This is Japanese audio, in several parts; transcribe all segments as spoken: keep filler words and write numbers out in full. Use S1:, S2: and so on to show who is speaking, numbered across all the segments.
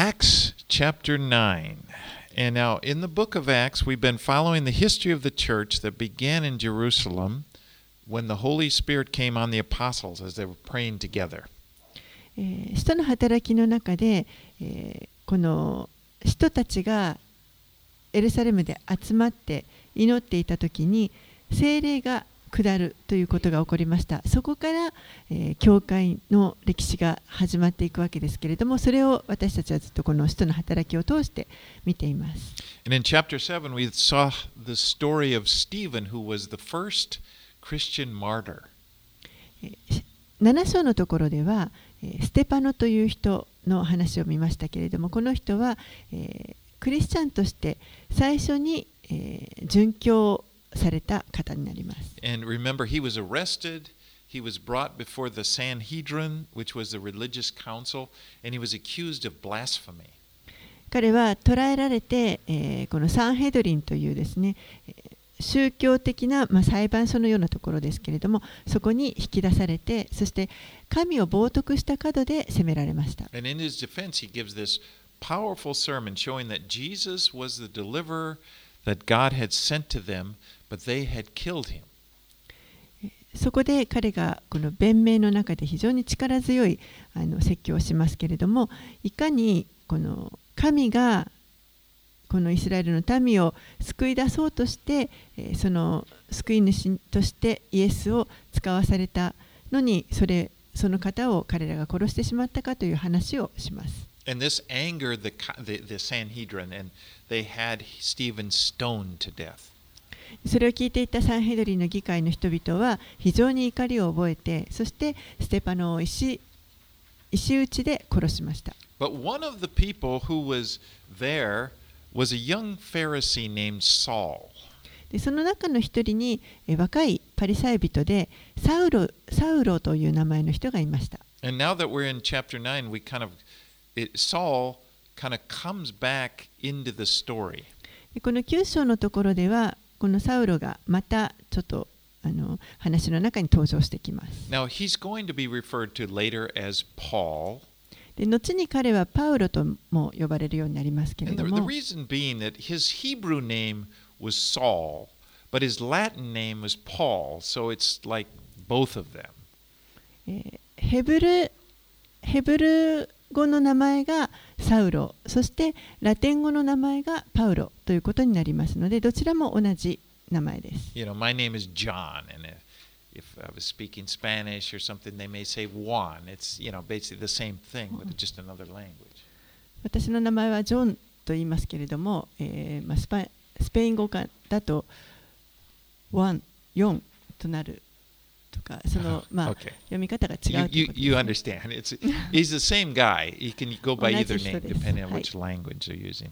S1: Acts chapter nine. And now, in the book of Acts, we've been following the history of the church that began in Jerusalem when the Holy Spirit came on the apostles as they were praying together.
S2: 使徒の働きの中で、えー、この使徒たちがエルサレムで集まって祈っていたときに聖霊が下るということが起こりました。そこから、えー、教会の歴史が始まっていくわけですけれども、それを私たちはずっとこの使徒の働きを通して見ています。
S1: And in chapter seven, we saw the story of Stephen, who was the first Christian martyr.
S2: なな章のところでは、ステパノという人の話を見ましたけれども、この人は、えー、クリスチャンとして最初に、えー、殉教された方になります。
S1: And remember, he was arrested, he was brought before the Sanhedrin, which was the religious council, and he was accused of blasphemy.
S2: 彼は捕らえられて、えー、このサンヘドリンというですね、宗教的な、まあ、裁判所のようなところですけれども、そこに引き出されて、そして神を冒涜した角で責められました。
S1: And in his defense, he gives this powerful sermon showing that Jesus was the deliverer that God had sent to them, but they had killed him.
S2: そこで彼がこの弁明の中で非常に力強いあの説教をしますけれども、いかにこの神がこのイスラエルの民を救い出そうとして、その救い主としてイエスを使わされたのに、それその方を彼らが殺してしまったかという話をします。
S1: And this angered the, the, the Sanhedrin, and they had Stephen stoned to death.
S2: それを聞いていたサンヘドリンの議会の人々は非常に怒りを覚えて、そしてステパノを石、石打ちで殺しました。
S1: But one of the people who was there was a young Pharisee named Saul.
S2: でその中の一人に若いパリサイ人でサウロ、サウロという名前の人がいました。
S1: And now that we're in chapter nine, we kind of, it, Saul kind of comes back into the story.
S2: このきゅう章のところでは、このサウロがまたちょっとあの話の中に登場してきます。
S1: Now he's going to be referred to later as Paul.
S2: で後に彼はパウロとも呼ばれるようになりますけれども、
S1: And the, the reason being that his Hebrew name was Saul, but his Latin name was Paul, so it's like both of them.
S2: えー、ヘブルヘブル語の名前がサウロ、そしてラテン語の名前がパウロということになりますので、どちらも同じ名前です。
S1: You know, my name is John, and if, if I was speaking Spanish or something, they may say Juan. It's, you know, basically the same thing, but it's just another language.
S2: 私の名前はジョンと言いますけれども、えーまあ、スパスペイン語だとワン、ヨンとなるとか、その、まあ、
S1: Okay.
S2: 読み方が違うということです、ね。
S1: You, you, you understand. It's, he's the same guy. He can go by
S2: 同
S1: either
S2: じ人
S1: name
S2: です。
S1: depending on
S2: はい。
S1: which language they're using.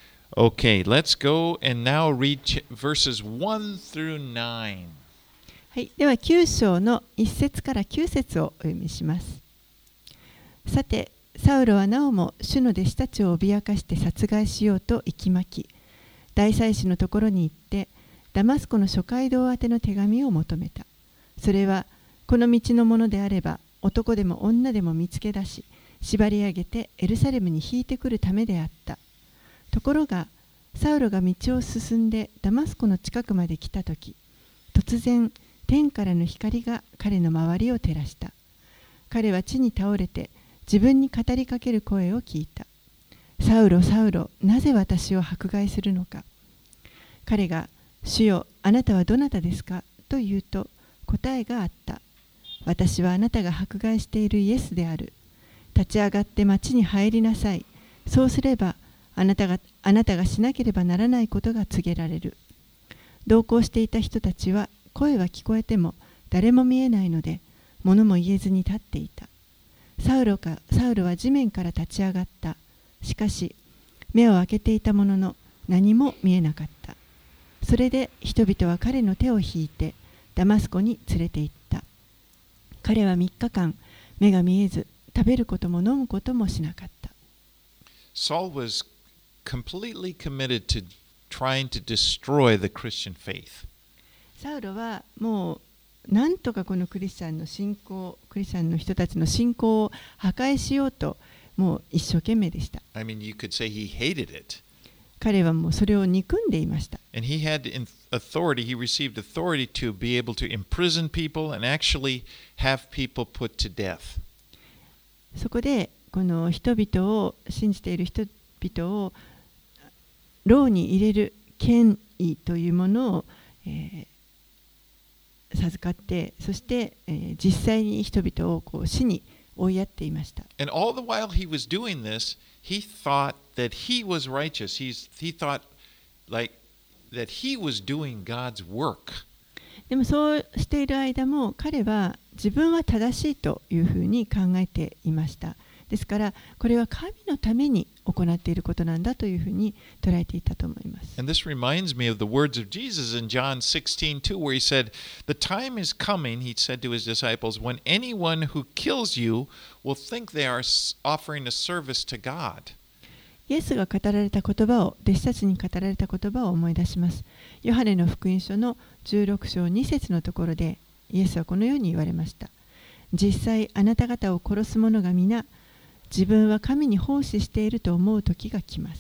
S1: Okay, let's go and now read ch- verses one through nine.
S2: はい、ではきゅう章のいち節からきゅう節をお読みします。さて、サウロはなおも主の弟子たちを脅かして殺害しようと息巻き、大祭司のところに行って、ダマスコの諸街道宛ての手紙を求めた。それは、この道のものであれば、男でも女でも見つけ出し、縛り上げてエルサレムに引いてくるためであった。ところが、サウロが道を進んでダマスコの近くまで来たとき、突然、天からの光が彼の周りを照らした。彼は地に倒れて、自分に語りかける声を聞いた。サウロ、サウロ、なぜ私を迫害するのか。彼が、主よ、あなたはどなたですかと言うと、答えがあった。私はあなたが迫害しているイエスである。立ち上がって町に入りなさい。そうすれば、あなたが、あなたがしなければならないことが告げられる。同行していた人たちは、声は聞こえても、誰も見えないので、物も言えずに立っていた。サウロか、サウロは地面から立ち上がった。しかし、目を開けていたものの、何も見えなかった。それで人々は彼の手を引いて、ダマスコに連れて行った。彼はみっかかん、目が見えず、食べることも飲むこともしなかった。
S1: Saul was completely committed to trying to destroy the Christian faith.
S2: サウロはもうなんとかこのクリスチャンの信仰、クリスチャンの人たちの信仰を破壊しようと、 もう一生懸命でした。
S1: I mean, you could say he hated it.
S2: 彼はもうそれを憎んでいました。
S1: And he had authority, he received authority to be able to imprison people and actually have people put to death.
S2: そこでこの人々を信じている人々を牢に入れる権威というものを、えー、授かって、そして、えー、実際に人々をこう死に追いやっていました。
S1: And all the while he was doing this, he thought that he was righteous. He's, he thought like that he was doing God's work.
S2: でもそうしている間も彼は自分は正しいというふうに考えていました。ですからこれは神のために行っていることなんだというふうに捉えていたと思います。
S1: And this reminds me of the words of Jesus in John sixteen two, where he said, "The time is coming," he said to his disciples, "when anyone who kills you will think they are offering a service to God."
S2: イエスが語られた言葉を、弟子たちに語られた言葉を思い出します。ヨハネの福音書のじゅうろく章に節のところで、イエスはこのように言われました。実際あなた方を殺す者が皆、自分は神に奉仕していると思う時が来ます。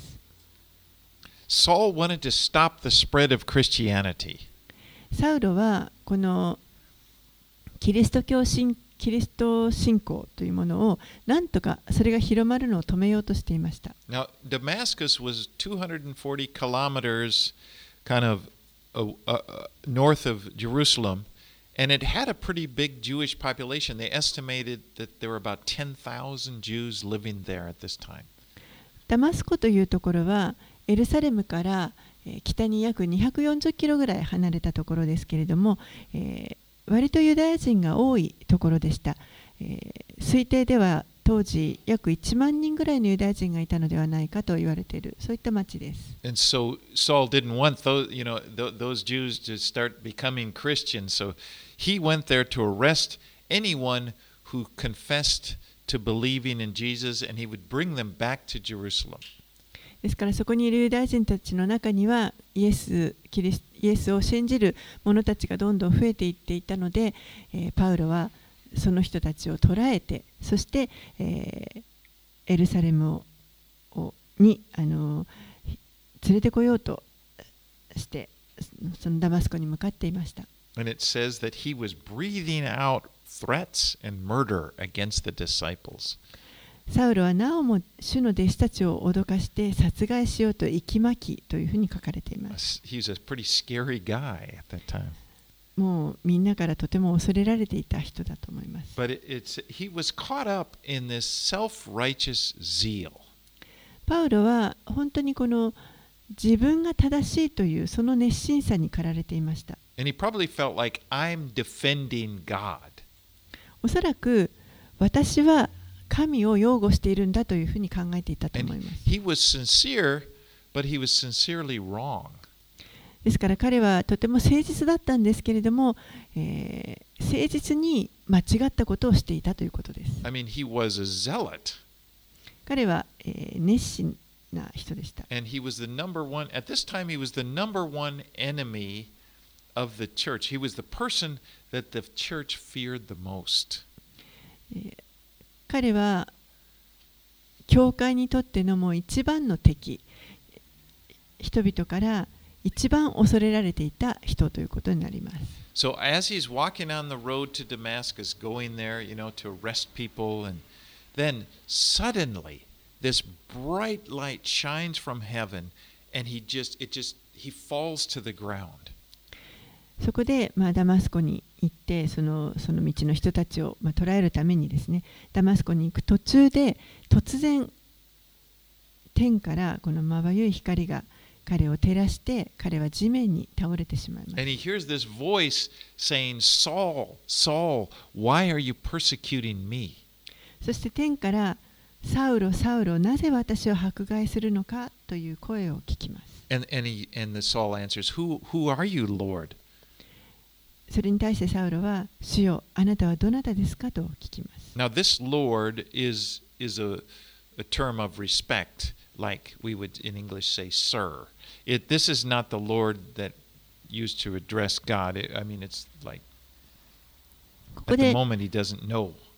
S1: Saul wanted to stop the spread of Christianity.
S2: サウロはこのキリスト教信キリスト信仰というものをなんとかそれが広まるのを止めようとしていました。
S1: Now, Damascus was two hundred forty kilometers kind of uh, uh, north of Jerusalem, and it had a pretty big Jewish population. They estimated that there were about ten thousand Jews living there at this time.
S2: ダマスコというところはエルサレムから北に約にひゃくよんじゅっキロぐらい離れたところですけれども、えー割とユダヤ人が多いところでした。えー、推定では当時約いちまんにんぐらいのユダヤ人がいたのではないかと言われている、そういった町です。
S1: And so Saul didn't want those, you know, th- those Jews to start becoming Christians, so he went there to arrest anyone who confessed to believing in Jesus, and he would bring them back to Jerusalem.
S2: ですからそこにいるユダヤ人たちの中にはイエス、キリス、イエスを信じる者たちがどんどん増えていっていたので、えー、パウロはその人たちを捕らえて、そして、えー、エルサレムををにあの連れてこようとしてそのダマスコに向かっていました。
S1: And it says that he was breathing out threats and murder against the disciples.
S2: サウロはなおも主の弟子たちを脅かして殺害しようと息巻きというふうに書かれています。
S1: He was a pretty scary guy at that time.
S2: もうみんなからとても恐れられていた人だと思います。
S1: But it, it's, he was caught up in this self-righteous zeal.
S2: パウロは本当にこの自分が正しいというその熱心さに駆られていました。
S1: And he probably felt like, I'm defending God.
S2: おそらく私は神を擁護しているんだというふうに考えていたと思います。
S1: He was sincere, but he was sincerely wrong.
S2: ですから彼はとても誠実だったんですけれども、えー、誠実に間違ったことをしていたということです。
S1: I mean, he was a zealot.
S2: 彼は、えー、熱心な人でした。
S1: And he was the number one, at this time he was the number one enemy of the church. He was the person that the church feared the most.
S2: 彼は教会にとってのもう一番の敵、人々から一番恐れられていた人ということになります。
S1: So as he's walking on the road to Damascus, going there, you know, to arrest people, and then suddenly this bright light shines from heaven, and he just, it just, he falls to the ground.
S2: そこで、まあ、ダマスコに行ってその、その道の人たちを、まあ、捕らえるためにですね、ダマスコに行く途中で突然天からこのまばゆい光が彼を照らして彼は地面に倒れてしまいます。
S1: And he hears this voice saying, Saul, Saul, why are you persecuting me?
S2: そして天からサウロ、サウロ、なぜ私を迫害するのかという声を聞きます。
S1: And, and, he, and the Saul answers, who, who are you, Lord?
S2: それに対してサウロは、主よ、あなたはどなたですかと聞きます。
S1: Now this Lord is, is a, a term of respect, like we would in English say, sir. It, this is not the Lord that used to address God. It, I mean, it's like, at the moment he doesn't know.
S2: こ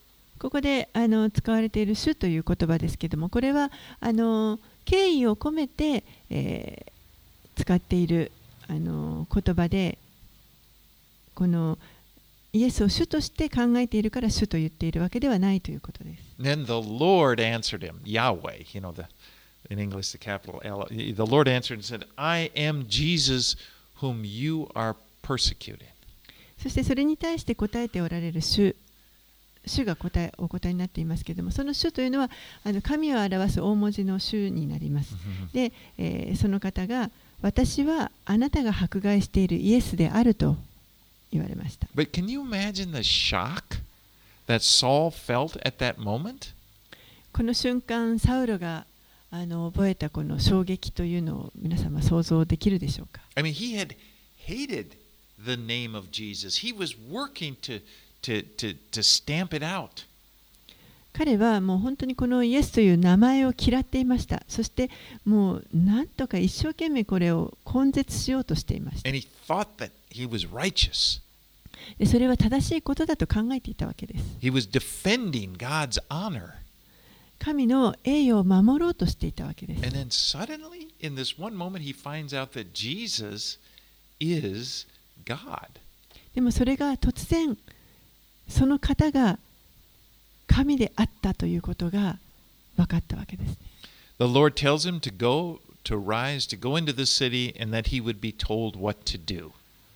S2: ここであの使われている主という言葉ですけども、これはあの敬意を込めて、えー、使っているあの言葉で、このイエスを主として考えているから主と言っているわけではないということです。
S1: Then the Lord answered him, Yahweh, you know, the, in English the capital L. The Lord answered and said, I am Jesus whom you are persecuting.
S2: そしてそれに対して答えておられる主、主が答えお答えになっていますけれども、その主というのはあの神を表す大文字の主になります。で、えー、その方が私はあなたが迫害しているイエスであると言われました。
S1: But can you imagine the shock that Saul felt at that moment?
S2: この瞬間、サウロがあの覚えたこの衝撃というのを皆様想像できるでしょうか。
S1: I mean, he had hated the name of Jesus. He was working to, to, to, to stamp it out.
S2: 彼はもう本当にこのイエスという名前を嫌っていました。そしてもうなんとか一生懸命これを根絶しようとしていました。
S1: And he thought that he was righteous.
S2: でそれは正しいことだと考えていたわけです。
S1: He was defending God's honor.
S2: 神の栄誉を守ろうとしていたわけです。
S1: And then suddenly, in this one moment, he finds out that Jesus is God.
S2: でもそれが突然、その方が神であったということが分かったわけですね。
S1: The Lord tells him to go, to rise, to go into the city, and that he would be told what to do.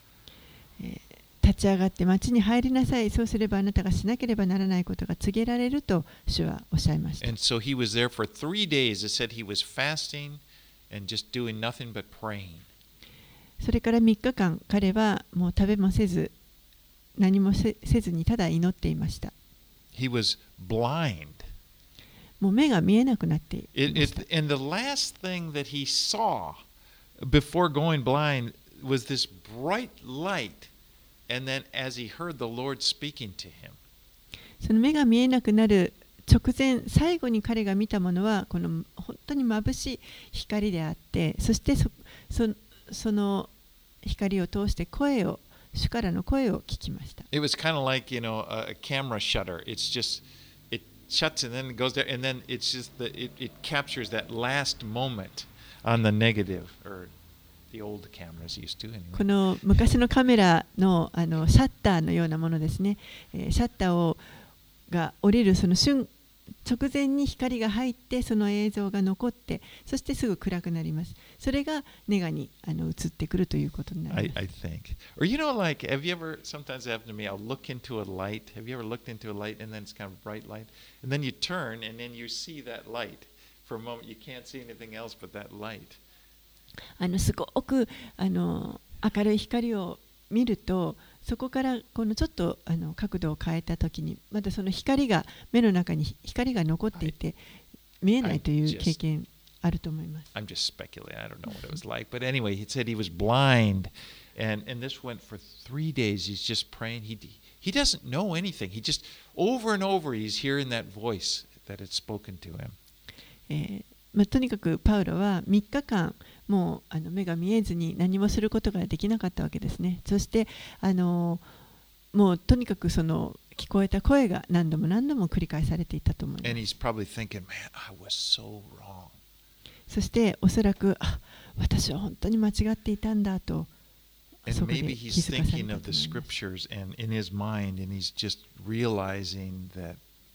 S2: 立ち上がって町に入りなさい。そうすればあなたがしなければならないことが告げられると主はおっしゃいました。
S1: And so he was there for three days. It said he was fasting and just doing nothing but praying.
S2: それからみっかかん、彼はもう食べもせず、何もせずにただ祈っていました。
S1: He was blind.
S2: もう目が見えなくなっていました。
S1: It, it, and the last thing that he saw before going blind was this bright light. And then as he heard the Lord speaking to him.
S2: その目が見えなくなる直前、最後に彼が見たものはこの本当に眩しい光であって、そして そ, そ, その光を通して声を主からの声を聞きました。
S1: It was kind of like, you know, a camera shutter. It's just it shuts and then it goes there, and then it's just the it, it captures that last moment on the negative or the old cameras used to anyway.
S2: この昔のカメラ の, あのシャッターのようなものですね。えー、シャッターをが降りるその瞬直前に光が入ってその映像が残って、そしてすぐ暗くなります。それがネガにあの映ってくるということになります。
S1: I, I think. Or you know, like, have you ever, sometimes it happened to me, I'll look into a light. Have you ever looked into a light and then it's kind of a bright light? And then you turn and then you see that light. For a moment, you can't see anything else but that light.
S2: あのすごくあの明るい光を見ると、そこからこのちょっとあの角度を変えたときに、またその光が目の中に光が残っていて見えないという経験あると思います。
S1: I'm just speculating. I don't know what it was like. But anyway, he said he was blind. And, and this went for three days. He's just praying. He, he doesn't know anything. He just, over and over, he's hearing that voice that had spoken to him.
S2: えーまあ、とにかくパウロはみっかかんもうあの目が見えずに何もすることができなかったわけですね。そしてあのもうとにかくその聞こえた声が何度も何度も繰り返されていたと思います。
S1: And he's probably thinking, man, I was so wrong.
S2: そしておそらくあ私は本当に間違っていたんだと
S1: And maybe he's thinking of the scriptures and in his mind, and he's just realizing that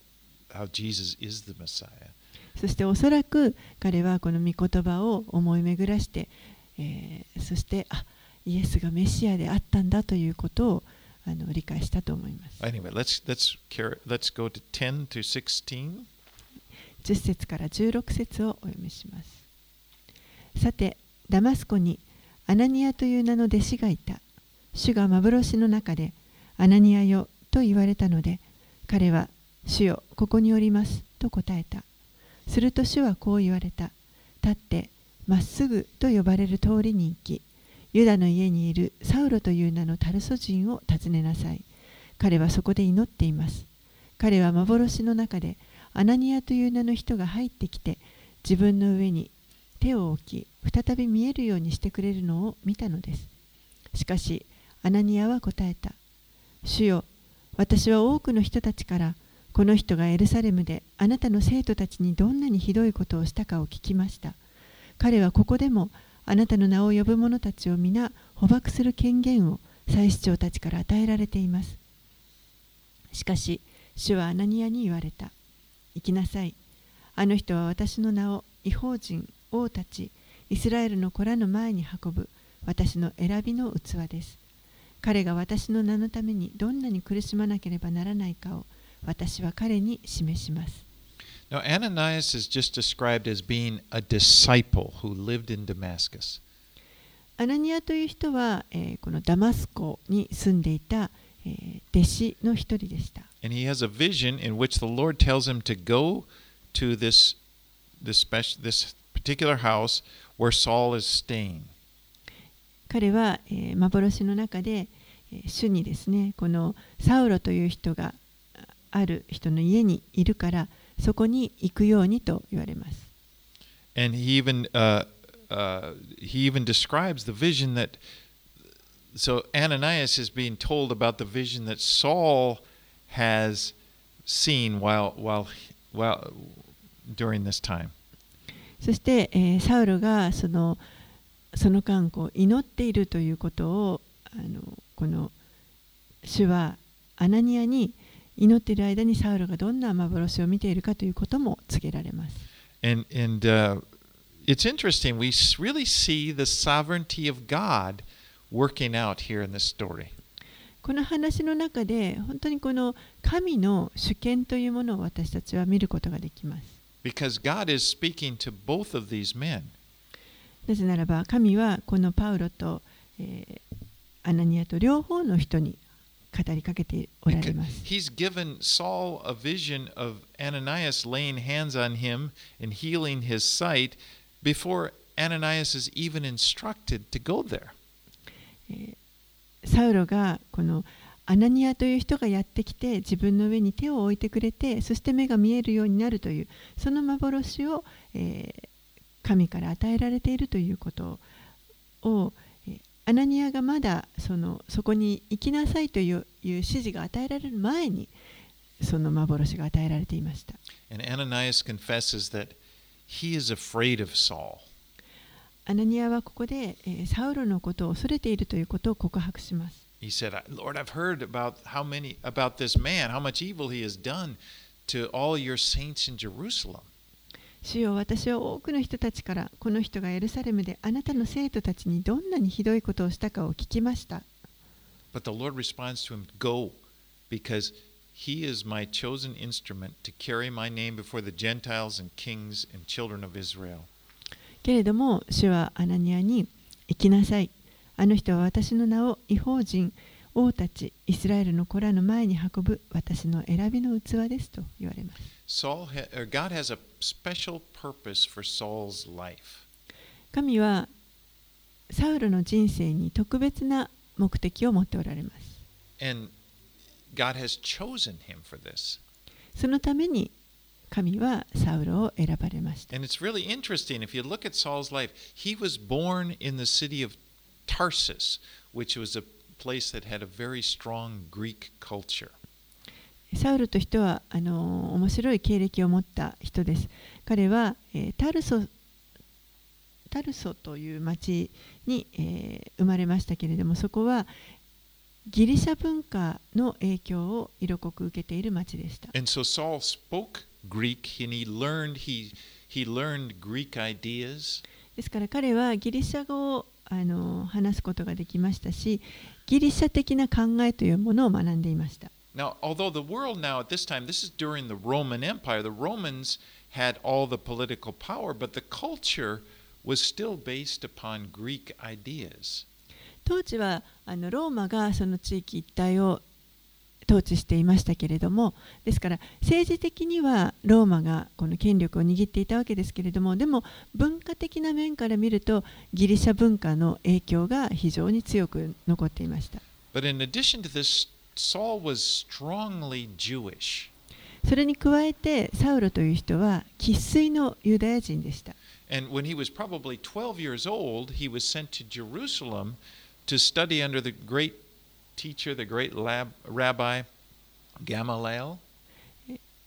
S1: how Jesus is the Messiah.
S2: そしておそらく彼はこの御言葉を思い巡らして、えー、そしてあイエスがメシアであったんだということをあの理解したと思います。
S1: Anyway, let's let's let's go to ten to sixteen.
S2: じゅっ節からじゅうろく節をお読みします。さて、ダマスコにアナニアという名の弟子がいた。主が幻の中でアナニアよと言われたので、彼は主よここにおりますと答えた。すると主はこう言われた。立ってまっすぐと呼ばれる通りに行き、ユダの家にいるサウロという名のタルソ人を訪ねなさい。彼はそこで祈っています。彼は幻の中でアナニアという名の人が入ってきて、自分の上に手を置き、再び見えるようにしてくれるのを見たのです。しかし、アナニアは答えた。主よ、私は多くの人たちからこの人がエルサレムであなたの生徒たちにどんなにひどいことをしたかを聞きました。彼はここでもあなたの名を呼ぶ者たちを皆捕獲する権限を祭司長たちから与えられています。しかし、主はアナニアに言われた。行きなさい。あの人は私の名を異邦人、王たち、イスラエルの子らの前に運ぶ私の選びの器です。彼が私の名のためにどんなに苦しまなければならないかを私は彼に示します。
S1: Now, Ananias is just described as being a disciple who lived in Damascus.
S2: アナニアという人は、えー、このダマスコに住んでいた、えー、弟子の一人でした。
S1: And he has a vision in which the Lord tells him to go to this, this, special, this particular house where Saul is staying.
S2: 彼は、えー、幻の中で、えー、主にですね、このサウロという人がある人の家にいるからそこに行くようにと言われます。
S1: And he even, uh, uh, he even describes the vision that, so Ananias is being told about the vision that Saul has seen while, while, while, during this time.
S2: そして、えー、サウロがそのその間こう祈っているということをあのこの主はアナニアに祈っている間にサウロがどんな幻を見ているかということも告げられます。
S1: And, and uh, it's interesting, we really see the sovereignty of God working out here in this story.
S2: この話の中で本当にこの神の主権というものを私たちは見ることができます。
S1: Because God is speaking to both of these men.
S2: なぜならば神はこのパウロと、えー、アナニアと両方の人に語りかけておられます。
S1: He's given Saul a vision of Ananias laying hands on him and healing his sight before Ananias is even instructed to go there.
S2: サウロがこのアナニアという人がやってきて自分の上に手を置いてくれて、そして目が見えるようになるというその幻を、えー、神から与えられているということをアナニアがまだ そのそこに行きなさいという、いう指示が与えられる前にその幻が与えられていました。
S1: And Ananias confesses that he is afraid of Saul.
S2: アナニアはここで、えー、サウロのことを恐れているということを告白します。
S1: He said, Lord, I've heard about how many about this man, how much evil he has done to all your saints in Jerusalem.
S2: 主よ、私は多くの人たちからこの人がエルサレムであなたの生徒たちにどんなにひどいことをしたかを聞きました。
S1: But the Lord responds to him, Go, because he is my chosen instrument to carry my name before the Gentiles and kings and children of Israel.
S2: けれども、主はアナニアに行きなさい。あの人は私の名を異邦人、王たち、イスラエルの子らの前に運ぶ私の選びの器ですと言われます。
S1: Saul ha- or God has a special purpose for Saul's life.
S2: 神はサウロの人生に特別な目的を持っておられます。
S1: And God has chosen him for this.
S2: そのために神はサウロを選ばれました。
S1: And it's really interesting if you look at Saul's life. He was born in the city of Tarsus, which was a place that had a very strong Greek culture.
S2: サウルという人はあの面白い経歴を持った人です。彼は、えー、タルソタルソという町に、えー、生まれましたけれども、そこはギリシャ文化の影響を色濃く受けている町でした。
S1: And so Saul spoke Greek and he learned he he learned Greek ideas.
S2: ですから彼はギリシャ語をあの話すことができましたし、ギリシャ的な考えというものを学んでいました。
S1: Now, although the world now at this time, this is during the Roman Empire, the Romans had all the political power, but the culture was still based upon Greek ideas.
S2: 当時はあのローマがその地域一帯を統治していましたけれども、ですから政治的にはローマがこの権力を握っていたわけですけれども、でも文化的な面から見るとギリシャ文化の影響が非常に強く残っていました。
S1: But in addition to this, Saul was strongly Jewish.
S2: それに加えてサウロという人は生粋のユダヤ人でした。
S1: And when he was probably twelve years old, he was sent to Jerusalem to study under the great teacher, the great lab, rabbi Gamaliel.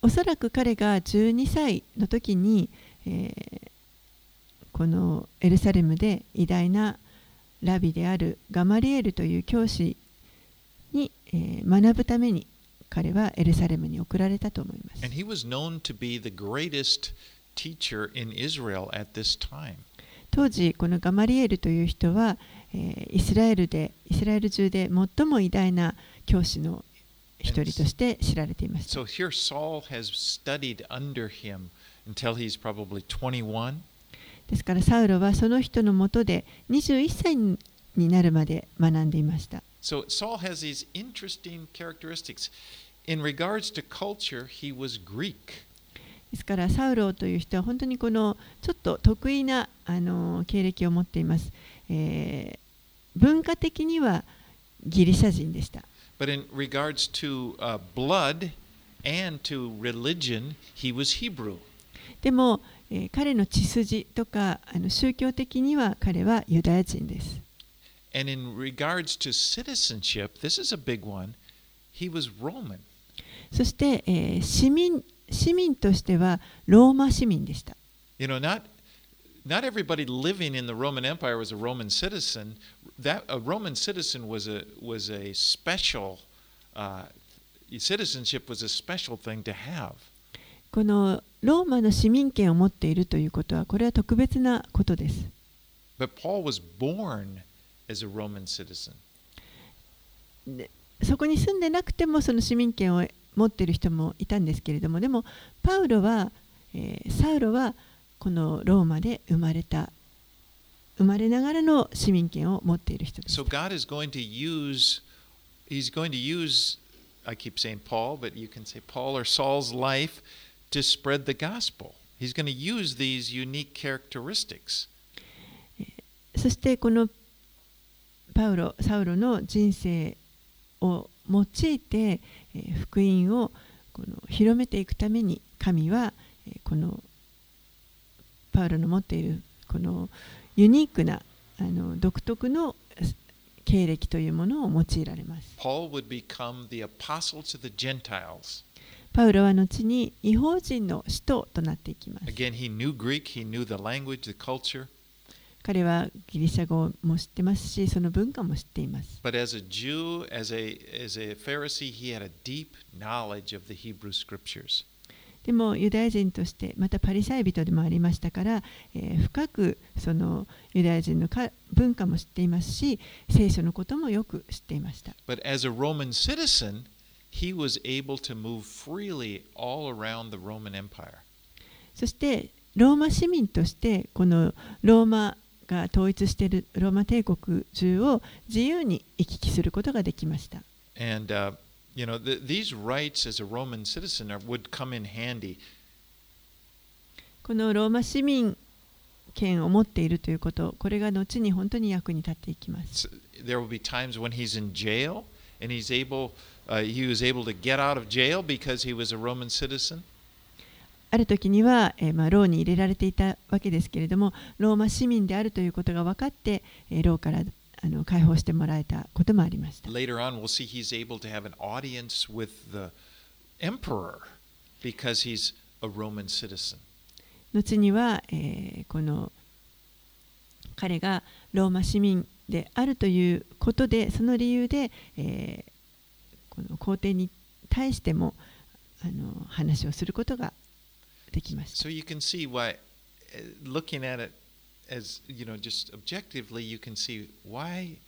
S2: おそらく彼がじゅうにさいの時に、えー、このエルサレムで偉大なラビであるガマリエルという教師に、えー、学ぶために彼はエルサレムに送られたと思います。
S1: And he was known to be the greatest teacher in Israel at this time.
S2: 当時このガマリエルという人は、えー、イスラエルでイスラエル中で最も偉大な教師の一人として知られていました。
S1: So here Saul has studied under him until he's probably twenty-one.
S2: ですからサウロはその人のもとでにじゅういっさいになるまで学んでいました。
S1: So Saul has these interesting characteristics. In regards to culture, he was Greek.
S2: ですからサウロという人は本当にこのちょっと得意なあの経歴を持っています。えー、文化的にはギリシャ人でした。
S1: But in regards to、uh, blood and to religion, he was Hebrew.
S2: でも、えー、彼の血筋とかあの宗教的には彼はユダヤ人です。
S1: And in regards to citizenship, this is a big one. He was Roman.
S2: そして、えー、市民市民としてはローマ市民でした。
S1: You know, not not everybody living in the Roman Empire was a Roman citizen. That a Roman citizen was a was a special uh, citizenship was a special thing to have.
S2: このローマの市民権を持っているということはこれは特別なことです。
S1: But Paul was born as a Roman citizen.
S2: でそこに住んでなくてもその市民権を持っている人もいたんですけれども、でもパウロは、えー、サウロはこのローマで生まれた生まれながらの市民権を持っている人です。
S1: So God is going to use, He's going to use, I keep saying Paul, but you can say Paul or Saul's life to spread the gospel. He's going to use these unique characteristics.
S2: そしてこのパウロ、サウロの人生を用いて、えー、福音をこの広めていくために神は、えー、このパウロの持っているこのユニークなあの独特の経歴というものを用いられます。
S1: Paul would become the apostle to the Gentiles.
S2: パウロは後に異邦人の使徒となっていきます。
S1: Again, he knew Greek, he knew the language, the culture.
S2: 彼はギリシャ語も知ってますし、その文化も知っています。
S1: But as a Jew, as a, as a Pharisee, he had a deep knowledge of the Hebrew scriptures.
S2: でもユダヤ人としてまたパリサイ人でもありましたから、えー、深くそのユダヤ人のか文化も知っていますし、聖書のこともよく知っていました。
S1: But as a Roman citizen, he was able to move freely all around the Roman Empire.
S2: そしてローマ市民としてこのローマが統一しているローマ帝国中を自由に行き来することができました。
S1: And, uh, you know, the, these rights as a Roman citizen are, would come in handy.
S2: このローマ市民権を持っているということ、これが後に本当に役に立っていきます。
S1: There will be times when he's in jail and he's able, uh, he was able to get out of jail because he was a Roman citizen.
S2: ある時には、えーまあ、牢に入れられていたわけですけれども、ローマ市民であるということが分かって、えー、牢からあの解放してもらえたこともありました。
S1: Later on, we'll see he's able to have an audience with the emperor because he's a Roman citizen.
S2: 後には、えー、この彼がローマ市民であるということで、その理由で、えー、この皇帝に対してもあの話をすることができました。
S1: So you can see why, looking at it as, you know, just objectively, you can see why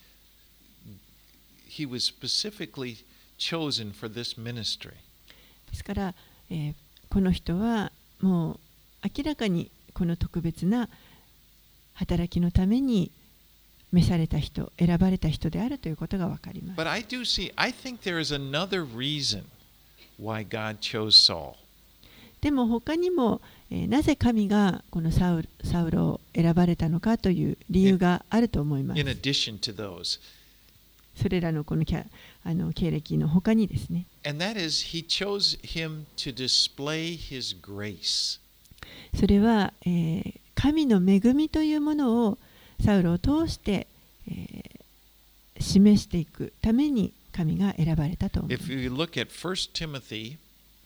S1: he was specifically chosen for this ministry.
S2: ですから、えー、この人はもう明らかにこの特別な働きのために召された人、選ばれた人であるということがわかります。
S1: But I do see, I think there is another reason why God chose Saul.
S2: でも他にも、えー、なぜ神がこのサウル、サウロを選ばれたのかという理由があると思います。
S1: In addition to those.
S2: それらのこのキャあの経歴の他にですね。
S1: And that is, he chose him to display his grace.
S2: それは、えー、神の恵みというものをサウロを通して、えー、示していくために神が選ばれたと思います。
S1: If you look at First Timothy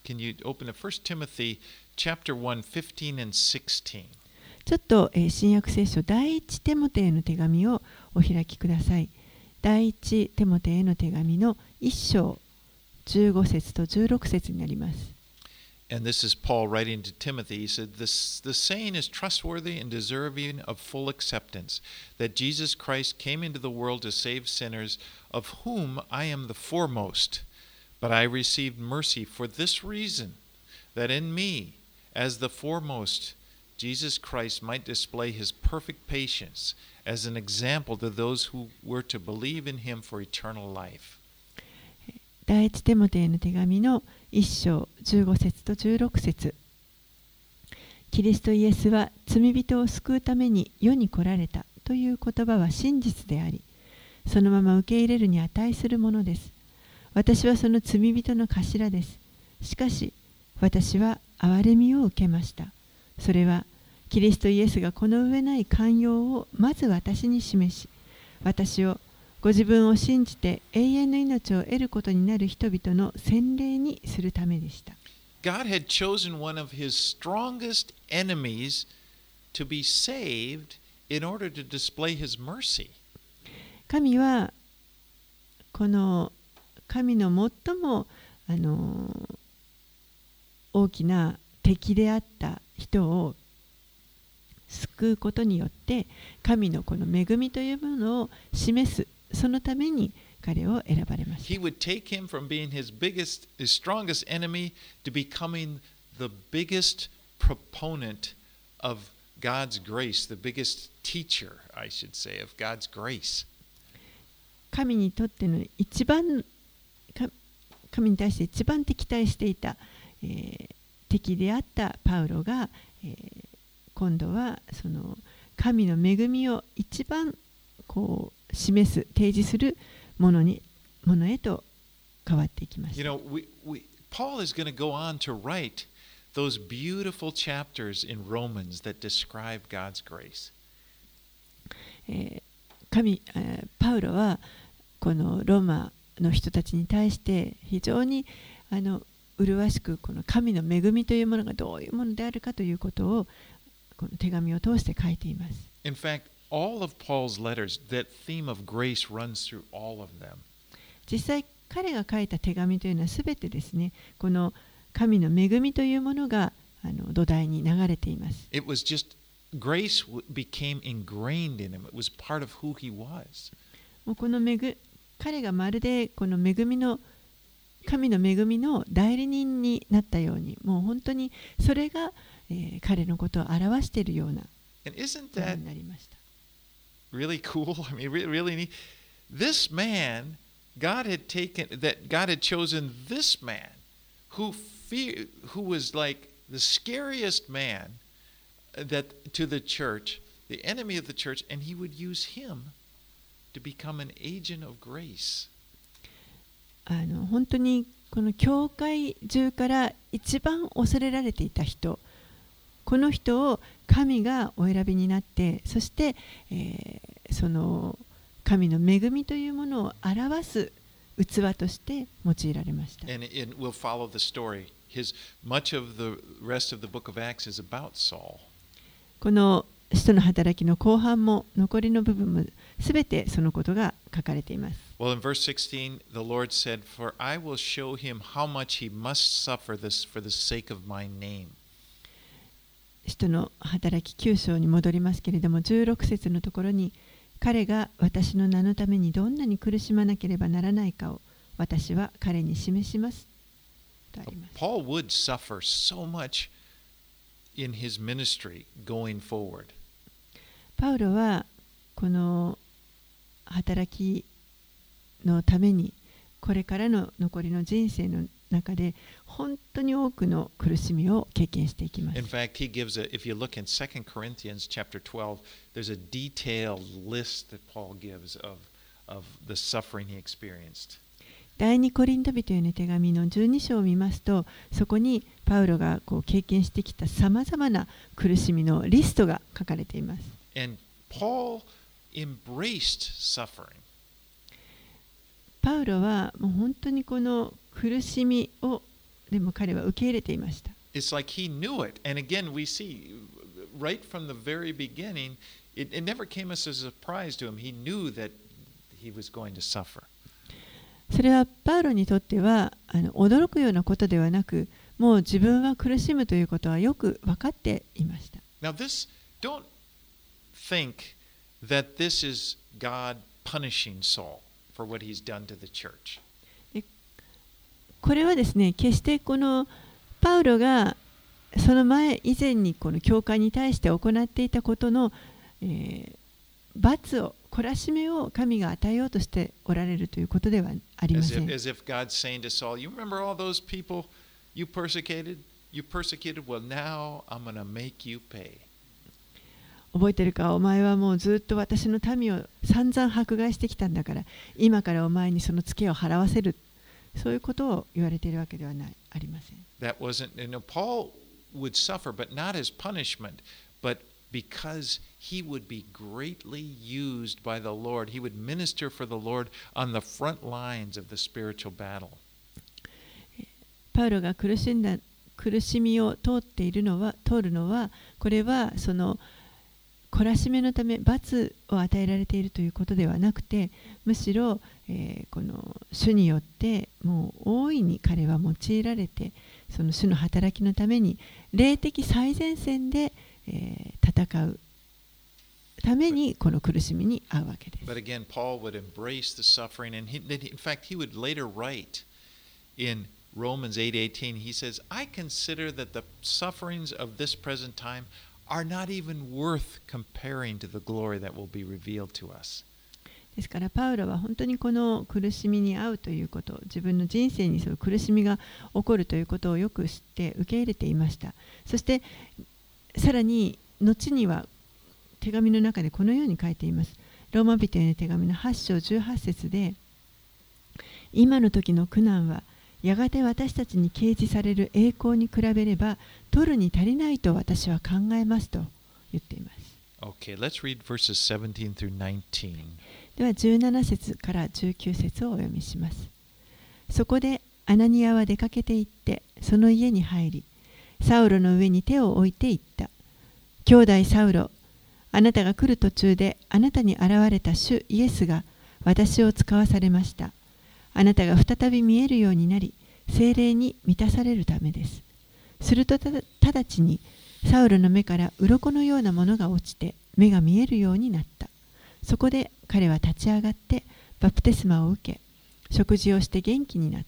S1: Can you open to First Timothy chapter one, fifteen and sixteen?
S2: ちょっと、えー新約聖書第一テモテへの手紙をお開きください。第一テモテへの手紙の一章じゅうご節とじゅうろく節になります。
S1: And this is Paul writing to Timothy. He said, this, The saying is trustworthy and deserving of full acceptance, that Jesus Christ came into the world to save sinners, of whom I am the foremost. But I received mercy for this reason, that in me, as the foremost, Jesus Christ might display his perfect patience as an example to those who were to believe in him for eternal life.
S2: 第一テモテへの手紙の一章じゅうご節とじゅうろく節。キリストイエスは罪人を救うために世に来られたという言葉は真実であり、そのまま受け入れるに値するものです。私はその罪人の頭です。しかし、私は憐れみを受けました。それは、キリストイエスがこの上ない寛容をまず私に示し、私をご自分を信じて永遠の命を得ることになる人々の洗礼にするためでした。
S1: God had chosen one of his strongest enemies to be saved in order to display his mercy.
S2: 神はこの神の最もあの大きな敵であった人を救うことによって神のこの恵みというものを示す、そのために彼を選ばれました。
S1: He would take him from being his biggest, his strongest enemy to becoming the biggest proponent of God's grace, the biggest teacher, I should say, of God's grace.
S2: 神にとっての一番神に対して一番敵対していた、えー、敵であったパウロが、えー、今度はその神の恵みを一番こう示す、提示するものにものへと変わっていきました。
S1: You know, we, we, Paul is going to go on to write those beautiful chapters in Romans that describe God's grace.
S2: えー、神、えー、パウロはこのローマの人たちに対して非常にあの麗しくこの神の恵みというものがどういうものであるかということをこの手紙を通して書いています。
S1: In fact, all of Paul's letters, that theme of grace runs through all of them.
S2: 実際彼が書いた手紙というのはすべてですね、この神の恵みというものがあの土台に流れています。
S1: It was just grace became ingrained in him. It was part of who he was.
S2: もうこの恵彼がまるでこの恵みの神の恵みの代理人になったように、もう本当にそれが、えー、彼のことを表しているようなものになりました。
S1: Really cool. I mean, really neat. This man, God had taken that God had chosen this man who fear, who was like the scariest man that to the church, the enemy of the church, and he would use him to become an agent of grace.
S2: あの本当にこの教会中から一番恐れられていた人、この人を神がお選びになって、そして、えー、その神の恵みというものを表す器として用いられました。
S1: And it will follow the story. His much of the rest of the book of Acts is about Saul.
S2: この使徒の働きの後半も残りの部分もすべてそのことが書かれています。
S1: Well, in verse sixteen, the Lord said, "For I will show him how much he must suffer this for the sake of my name."
S2: 使徒の働ききゅう章に戻りますけれども、じゅうろく節のところに、彼が私の名のためにどんなに苦しまなければならないかを私は彼に示しますとあります。
S1: Paul would suffer so much in his ministry going forward.
S2: パウロはこの働きのためにこれからの残りの人生の中で本当に多くの苦しみを経験していきます。
S1: In fact, he gives a, if you look in Second Corinthians chapter twelve, there's a detailed list that Paul gives of, of the suffering he experienced.
S2: 第二コリント人への手紙のじゅうに章を見ますと、そこにパウロがこう経験してきたさまざまな苦しみのリストが書かれています。
S1: And Paul embraced suffering.
S2: パウロはもう本当にこの苦しみをでも彼は受け入れていました。
S1: It's like he knew it. And again, we see right from the very beginning, it, it never came as a surprise to him. He knew that he was going to suffer.
S2: それはパウロにとってはあの驚くようなことではなく、もう自分は苦しむということはよく分かっていました。
S1: Now this, don't think that this is God punishing Saul for what he's done to the church.
S2: これはですね、決してこのパウロがその前以前にこの教会に対して行っていたことの、えー、罰を懲らしめを神が与えようとしておられるということではありません。
S1: As if, as if God's saying to Saul, you remember all those people you persecuted? You persecuted? Well, now I'm going to make you pay.
S2: 覚えてるか、お前はもうずっと私の民を散々迫害してきたんだから、今からお前にそのツケを払わせる。そういうことを言われているわけではないありません。
S1: That wasn't, you know, Paul would suffer, but not as punishment, but because he would be greatly used by the Lord. He would minister for the Lord on the front lines of the spiritual battle.
S2: パウロが苦しんだ苦しみを通っているのは通るのは、これはその懲らしめのため罰を与えられているということではなくて、むしろ、えー、この主によってもう大いに彼は用いられて、その主の働きのために霊的最前線で、えー、戦うためにこの苦しみに遭うわけです。
S1: But again, Paul would embrace the suffering, and he, in fact, he would later write in Romans eight eighteen, he says, I consider that the sufferings of this present time are not even worth comparing to the glory that will be revealed to us.
S2: ですからパウロは本当にこの苦しみに遭うということ、自分の人生にそういう苦しみが起こるということをよく知って受け入れていました。そしてさらに後には手紙の中でこのように書いています。ローマ人への手紙のはち章じゅうはち節で、今の時の苦難はやがて私たちに掲示される栄光に比べれば取るに足りないと私は考えますと言っています。
S1: Okay, let's read verses seventeen through nineteen.
S2: ではじゅうなな節からじゅうきゅう節をお読みします。そこでアナニアは出かけて行ってその家に入り、サウロの上に手を置いて言った。兄弟サウロ、あなたが来る途中であなたに現れた主イエスが私を使わされました。あなたが再び見えるようになり、聖霊に満たされるためです。するとただ直ちにサウロの目から鱗のようなものが落ちて目が見えるようになった。そこで彼は立ち上がってバプテスマを受け、食事をして元気になった。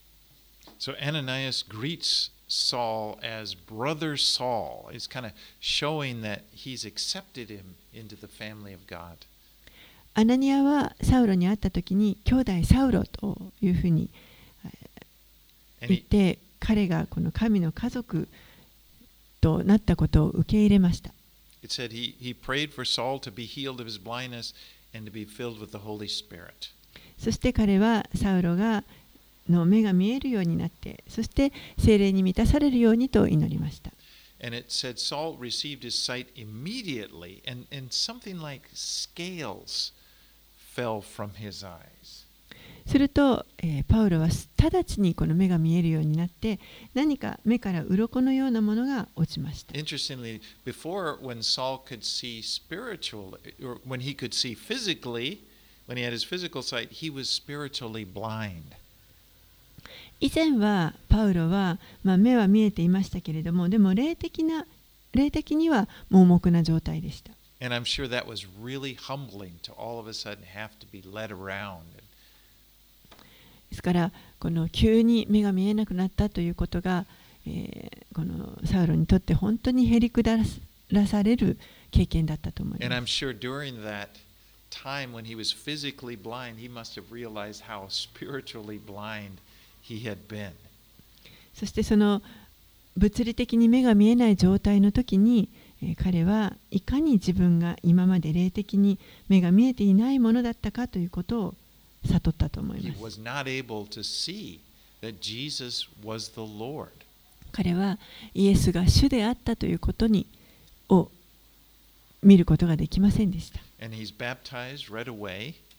S1: So Ananias greets Saul as brother Saul. He's kind of showing that he's accepted him into the family of God.
S2: アナニアはサウロに会った時に兄弟サウロというふうに言って、彼がこの神の家族となったことを受け入れました。
S1: It said he, he prayed for Saul to be healed of his blindness and to be filled with the Holy Spirit.
S2: そして彼はサウロがの目が見えるようになって、そして聖霊に満たされるようにと祈りました。
S1: And it said Saul received his sight immediately, and, and something like scales fell from his eyes.
S2: すると、えー、パウロは直ちにこの目が見えるようになって、何か目から鱗のようなものが落ちました。
S1: Interestingly, before when Saul could see spiritually, or when he could see physically, when he had his physical sight, he was spiritually blind.
S2: 以前はパウロは、まあ、目は見えていましたけれども、でも霊的な霊的には盲目な状態でした。
S1: And I'm sure that was really humbling to all of a sudden have to be led around.
S2: ですからこの急に目が見えなくなったということが、えー、このサウロにとって本当にへりくだらされる経験だったと思います。
S1: And I'm sure during that time when he was physically blind, he must have realized how spiritually blind he had been.
S2: そしてその物理的に目が見えない状態の時に、えー、彼はいかに自分が今まで霊的に目が見えていないものだったかということを悟ったと思います。彼はイエスが主であったということにを見ることができませんでした。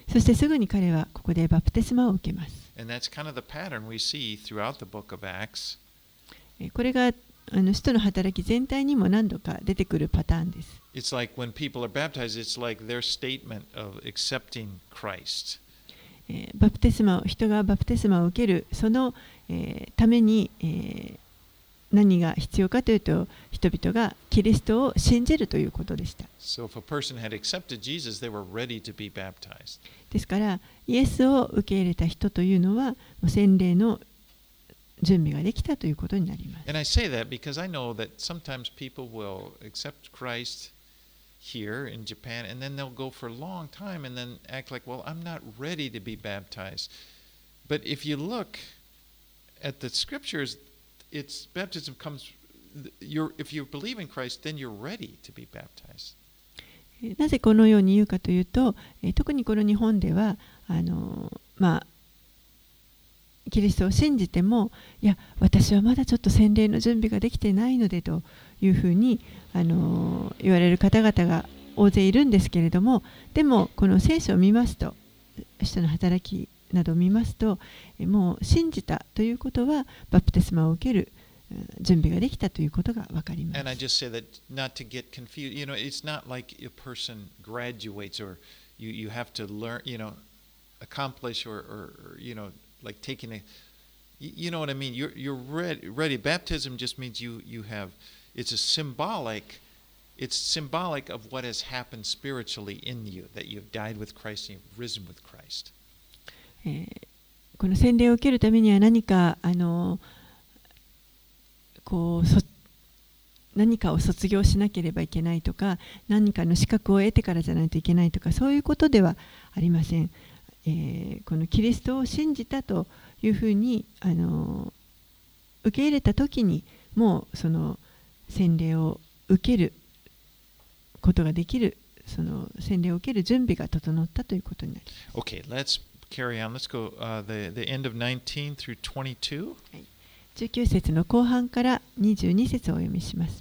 S2: そしてすぐに彼はここでバプテスマを受けます。
S1: And that's kind of the pattern we see throughout the book of Acts.
S2: これがあの使徒の働き全体にも何度か出てくるパターンです。
S1: It's like when people are baptized, it's like their statement of accepting Christ.
S2: バプテスマを人がバプテスマを受けるその、えー、ために、えー、何が必要かというと人々がキリストを信じるということでした。
S1: So if a person had accepted Jesus, they were ready to be baptized.
S2: ですからイエスを受け入れた人というのはもう洗礼の準備ができたということになります。
S1: And I say that because I know that sometimes people will accept Christ here in Japan, and then they'll go for a long time and then act like, well, I'm not ready to be baptized. But if you look at the scriptures, it's baptism comes, you're, if you believe in Christ, then you're ready to be baptized.
S2: なぜこのように言うかというと、特にこの日本ではあの、まあ、キリストを信じても、いや、私はまだちょっと洗礼の準備ができてないのでというふうにあの言われる方々が大勢いるんですけれども、でもこの聖書を見ますと、使徒の働きなどを見ますと、もう信じたということはバプテスマを受ける準備ができたということがわかります。
S1: And I just say that not to get confused. You know, it's not like a person graduates or you, you have to learn, you know, accomplish or, or, you know, like taking a, you know what I mean? You're, you're ready, ready. Baptism just means you, you have, it's a symbolic, it's symbolic of what has happened spiritually in you, that you've died with Christ and you've risen with Christ.
S2: えー、この洗礼を受けるためには何かあのこうそ何かを卒業しなければいけないとか、何かの資格を得てからじゃないといけないとか、そういうことではありません。えー、このキリストを信じたというふうにあの受け入れたときに、もうその洗礼を受けることができる、その洗礼を受ける準備が整ったということになります。
S1: Okay, let's carry on. Let's go uh, the, the end of nineteen through twenty-two.
S2: はい、じゅうきゅう節の後半からにじゅうに節をお読みします。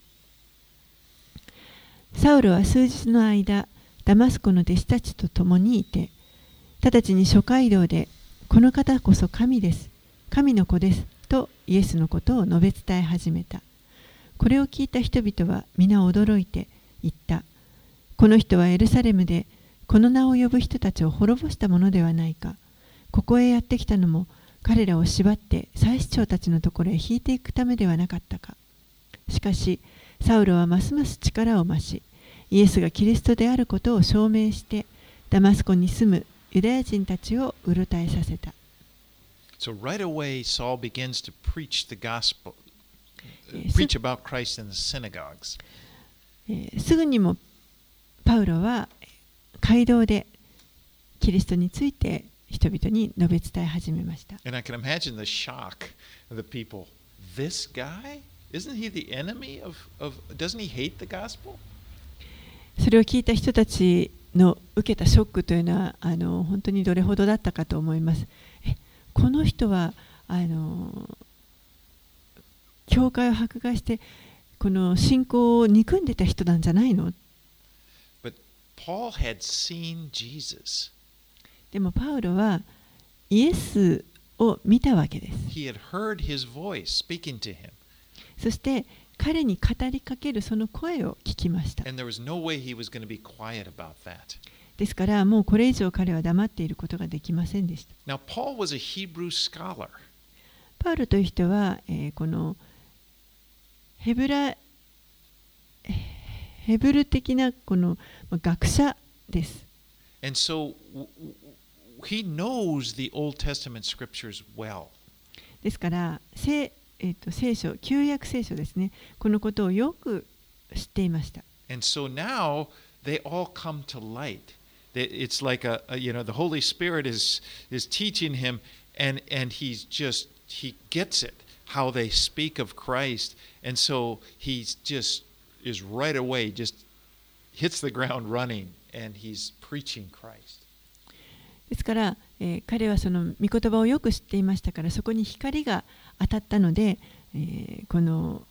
S2: サウルは数日の間、ダマスコの弟子たちと共にいて、直ちに諸街道で、この方こそ神です、神の子です、とイエスのことを述べ伝え始めた。これを聞いた人々は皆驚いて言った。この人はエルサレムで、この名を呼ぶ人たちを滅ぼしたものではないか。ここへやってきたのも、彼らを縛って祭司長たちのところへ引いていくためではなかったか。しかし、サウルはますます力を増し、イエスがキリストであることを証明して、ダマスコに住むユダヤ人たちをうろたえさせた。
S1: So right away, Saul begins to preach the gospel, preach about Christ in the synagogues.
S2: すぐにもパウロは街道でキリストについて人々に述べ伝え始めました。
S1: And I can imagine the shock of the people. This guy? Isn't he the enemy of, of doesn't he hate the gospel?
S2: それを聞いた人たちの受けたショックというのはあの本当にどれほどだったかと思います。え、この人はあの教会を迫害してこの信仰を憎んでた人なんじゃないの？
S1: But Paul had seen Jesus.
S2: でもパウロはイエスを見たわけです。
S1: He had heard his voice speaking to him.
S2: そして彼に語りかけるその声を聞きました。
S1: And there was no way he was going to be quiet about that.
S2: ですからもうこれ以上彼は黙っていることができませんでした。
S1: Now Paul was a Hebrew scholar.
S2: パウロという人は、えー、このヘブラヘブル的なこの学者です。
S1: And so he knows the Old Testament scriptures well.
S2: ですから聖えー、と聖書、旧約聖書ですね。このことをよく知っていました。
S1: And so now they all come to light. It's like a, a you know the Holy Spirit is is teaching him, and and he's just he gets it how they speak of Christ, and so he's just is right away just hits the ground running, and he's preaching Christ.
S2: ですから、えー、彼はその御言葉をよく知っていましたから、そこに光が当たったので、えー、この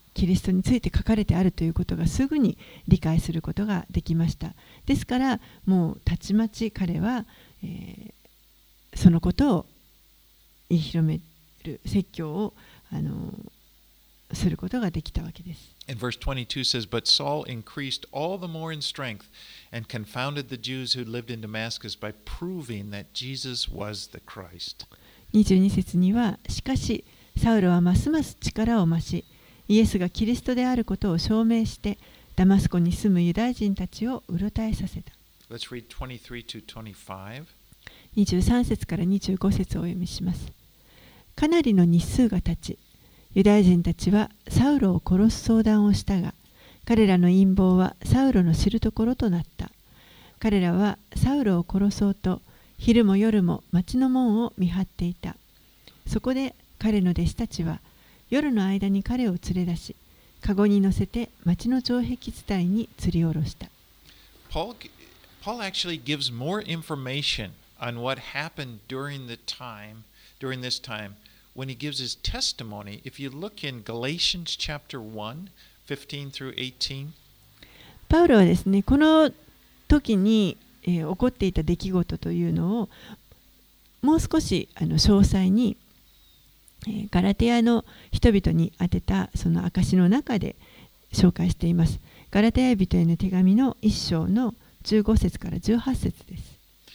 S2: キリストについて書かれてあるということがすぐに理解することができました。ですからもうたちまち彼は、えー、そのことを言い広める説教をあのすることができたわけです。
S1: And verse twenty-two says, But Saul increased all the more in strength and confounded the Jews who lived in Damascus by proving that Jesus was the Christ.
S2: にじゅうに節には、しかしサウロはますます力を増し、イエスがキリストであることを証明して、ダマスコに住むユダヤ人たちをうろたえさせた。
S1: Let's read twenty-three to twenty-five.
S2: にじゅうさん節からにじゅうご節をお読みします。かなりの日数が経ち、ユダヤ人たちはサウロを殺す相談をしたが、彼らの陰謀はサウロの知るところとなった。彼らはサウロを殺そうと、昼も夜も町の門を見張っていた。そこで彼の弟子たちは、夜の間に彼を連れ出し、かごに乗せて町の城壁伝いに吊り下ろした。
S1: Paul, Paul actually gives more information on what happened during the time, during this time, when he gives his testimony. If you look in Galatians chapter one, fifteen through eighteen.
S2: パウロはですね、この時に、えー、起こっていた出来事というのをもう少しあの詳細に、えー、ガラテヤの人々に宛てたその証の中で紹介しています。ガラテヤ人への手紙の一章のじゅうご節からじゅうはち節です。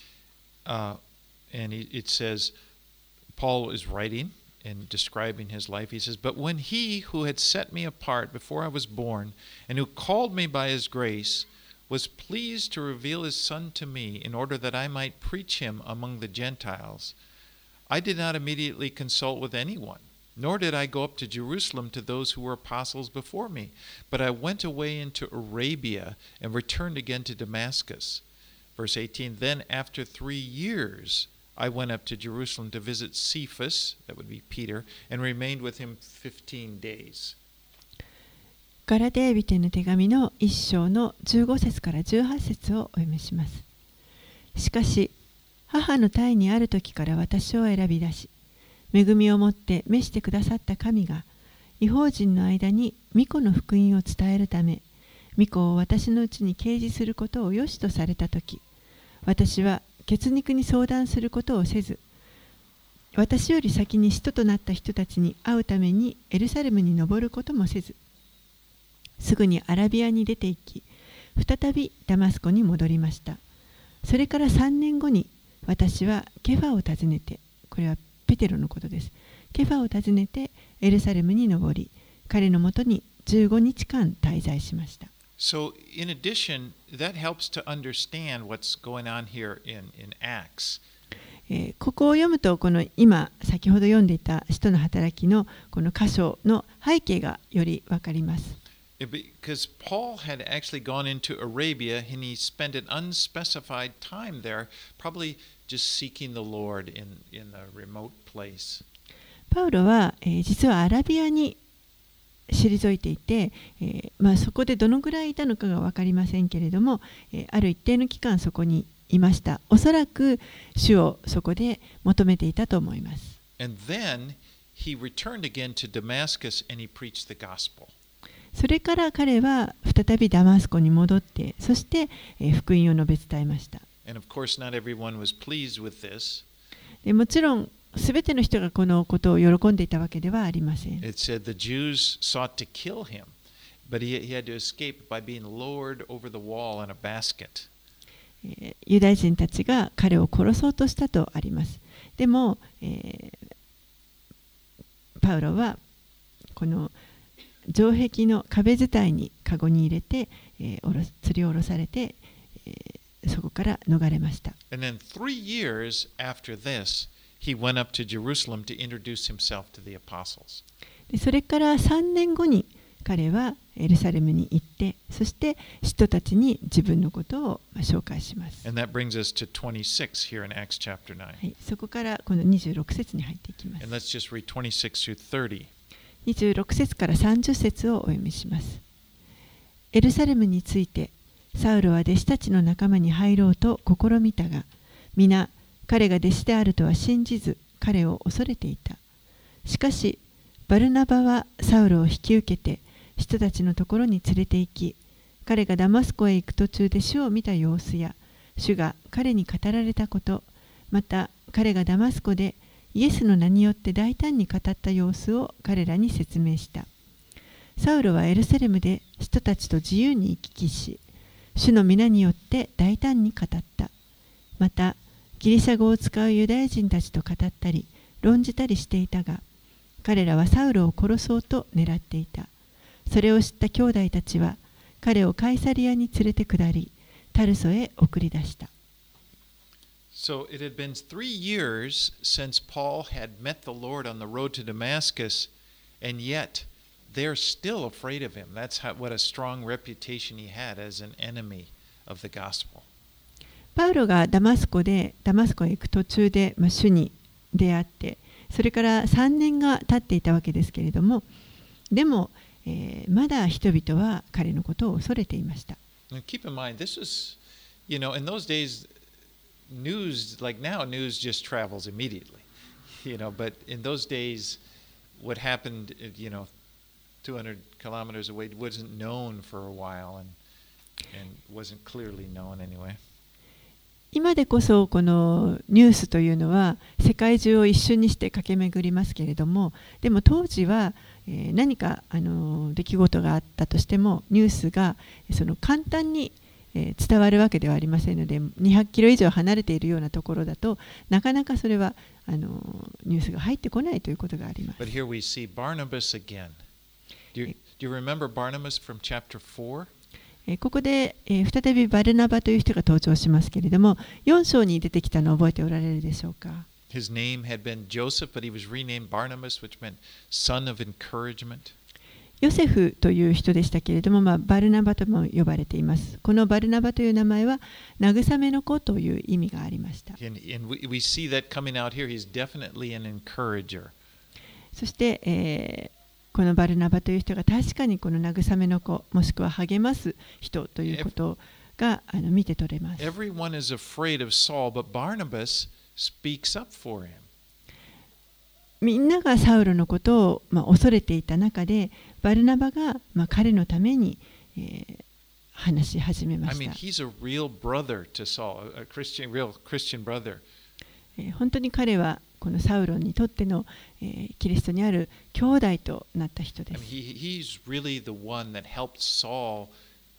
S1: Uh, and it says, Paul is writing and describing his life. He says, But when he who had set me apart before I was born and who called me by his grace was pleased to reveal his Son to me in order that I might preach him among the Gentiles, I did not immediately consult with anyone, nor did I go up to Jerusalem to those who were apostles before me, but I went away into Arabia and returned again to Damascus. Verse eighteen, Then after three years I went up to Jerusalem to visit Cephas, that would be Peter, and remained with him fifteen days.
S2: ガラテヤ人への手紙の一章のじゅうご節からじゅうはち節をお読みします。しかし、母の胎にある時から私を選び出し、恵みをもって召してくださった神が、異邦人の間に御子の福音を伝えるため、御子を私のうちに掲示することを良しとされた時、私は血肉に相談することをせず、私より先に使徒となった人たちに会うためにエルサレムに登ることもせず、すぐにアラビアに出て行き、再びダマスコに戻りました。それからさんねんごに私はケファを訪ねて、これはペテロのことです。ケファを訪ねてエルサレムに登り、彼のもとにじゅうごにちかん滞在しました。
S1: So, in addition, that helps to understand what's going on here in, in Acts.
S2: えー、ここを読むと、この今先ほど読んでいた使徒の働きのこの箇所の背景がよりわかります。
S1: Because Paul had actually gone into Arabia and he spent an unspecified time there, probably just seeking the Lord in, in a remote place.
S2: パウロは、えー、実はアラビアに退いていて、えーまあ、そこでどのぐらいいたのかが分かりませんけれども、えー、ある一定の期間そこにいました。おそらく主をそこで求めていたと思います。
S1: And then he returned again to Damascus and he preached the gospel.
S2: それから彼は再びダマスコに戻って、そして、えー、福音を述べ伝えました。
S1: And of course, not everyone was pleased with this.
S2: でもちろんすべての人がこのことを喜んでいたわけではありません。
S1: It said the Jews sought to kill him, but he, he had to escape by being lowered over the wall in a basket.
S2: ユダヤ人たちが彼を殺そうとしたとあります。でも、えー、パウロはこの城壁の壁伝いにカゴに入れて、えー、おろ吊り下ろされて、えー、そこから逃れました。
S1: And then three years after this, he went up to Jerusalem to introduce himself to the apostles.
S2: でそれからさんねんごに彼はエルサレムに行って、そして使徒たちに自分のことを紹介します。
S1: And that brings us to twenty-six here in Acts chapter nine.
S2: はい、そこからこのにじゅうろく節に入っていきます。
S1: And let's just read twenty-six through thirty.
S2: にじゅうろく節からさんじゅう節をお読みします。エルサレムについて、サウロは弟子たちの仲間に入ろうと試みたが、皆彼が弟子であるとは信じず、彼を恐れていた。しかし、バルナバはサウロを引き受けて、 人たちのところに連れて行き、彼がダマスコへ行く途中で主を見た様子や、主が彼に語られたこと、また彼がダマスコでイエスの名によって大胆に語った様子を彼らに説明した。サウロはエルサレムで人たちと自由に行き来し、主の皆によって大胆に語った。また、ギリシャ語を使うユダヤ人たちと語ったり、論じたりしていたが、彼らはサウロを殺そうと狙っていた。それを知った兄弟たちは、彼をカイサリアに連れて下り、タルソへ送り出した。
S1: So it had been three years since Paul had met the Lord on the road to Damascus, and yet they're still afraid of him. That's how, what a strong reputation he had as an enemy of the gospel.
S2: パウロがダマスコでダマスコへ行く途中で、まあ、主に出会って、それからさんねんが経っていたわけですけれども、でも、えー、まだ人々は彼のことを恐れていました。
S1: Keep in mind, this was, you know, in those days, news, like now, news just travels immediately, you know, but in those days, what happened, you know, two hundred kilometers away wasn't known for a while and, and wasn't clearly known anyway.
S2: 今でこそこのニュースというのは世界中を一瞬にして駆け巡りますけれども、でも当時は何かあの出来事があったとしてもニュースがその簡単に伝わるわけではありませんので、にひゃくキロ以上離れているようなところだとなかなかそれはあのニュースが入ってこないということがあります。
S1: But here we see Barnabas again. Do you, do you remember Barnabas from chapter four?
S2: ここで、えー、再びバルナバという人が登場しますけれども、よん章に出てきたのを覚えておられるでしょうか。
S1: His name had been Joseph, but he was renamed Barnabas, which meant son of encouragement.
S2: ヨセフという人でしたけれども、まあ、バルナバとも呼ばれています。このバルナバという名前は慰めの子という意味がありました。
S1: And, and we, we see that coming out here. He's definitely an encourager.
S2: そして、えーこのバルナバという人が確かにこの慰めの子もしくは励ます人ということがあの見て取れます。
S1: Everyone is afraid of Saul, but Barnabas speaks up for him.
S2: みんながサウロのことを、まあ、恐れていた中で、バルナバが、まあ、彼のために、えー、話し始めました。
S1: I mean, he's a real brother to Saul, a Christian, real Christian brother.
S2: えー、本当に彼はこのサウロにとっての、えー、キリストにある兄弟となった人です。
S1: I mean, he, he's really the one that helped Saul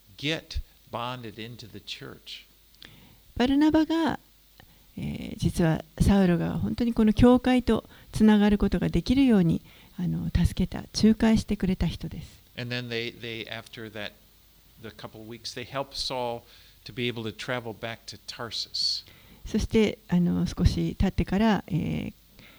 S1: get bonded into the church.
S2: バルナバが、えー、実はサウロが本当にこの教会とつながることができるようにあの助けた、仲介してくれた人です。
S1: And then they, they after that, the couple of weeks, they helped Saul to be able to travel back to Tarsus.
S2: そしてあの少し経ってから、え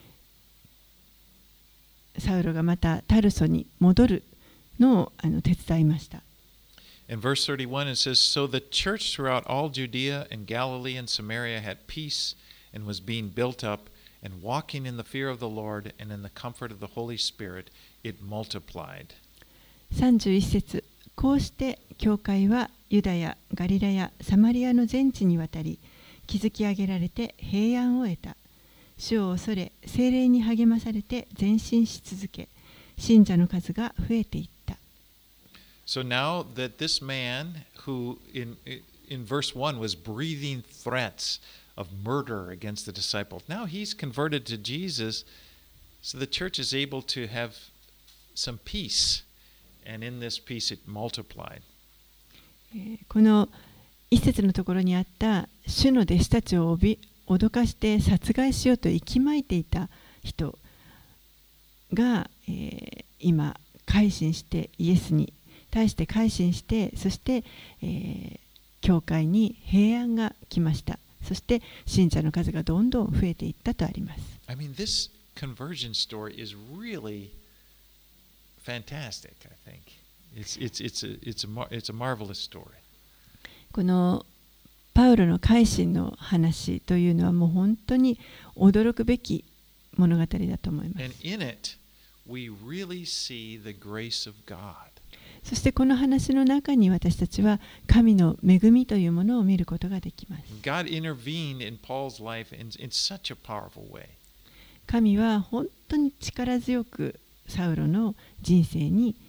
S2: ー、サウロがまたタルソに戻るのをあの手伝いました。
S1: In verse thirty-one, it says, So the church throughout all Judea and Galilee and Samaria had peace and was being built up, and walking in the fear of the Lord and in the comfort of the Holy Spirit, it multiplied.
S2: さんじゅういち節、こうして教会はユダヤ、ガリラヤ、サマリアの全地にわたり、築き上げられて平安を得た。主を恐れ、聖霊に励まされて前進し続け、信者の数が増えていった。
S1: So now that this man who in, in verse one was breathing threats of murder against the disciples, now he's converted to Jesus, so the church is able to have some peace, and in this peace it multiplied.
S2: この一節のところにあった主の弟子たちを脅かして殺害しようと息巻いていた人が、えー、今改心してイエスに対して改心して、そして、えー、教会に平安が来ました。そして信者の数がどんどん増えていったとあります。
S1: I mean, this conversion story is really fantastic, I think. It's, it's, it's, a, it's, a, it's a marvelous story.
S2: このパウロの改心の話というのはもう本当に驚くべき物語だと思います。
S1: And in it, we really see the grace of God.
S2: そしてこの話の中に私たちは神の恵みというものを見ることができます。
S1: God intervened in Paul's life in, in such a powerful way.
S2: 神は本当に力強くサウロの人生に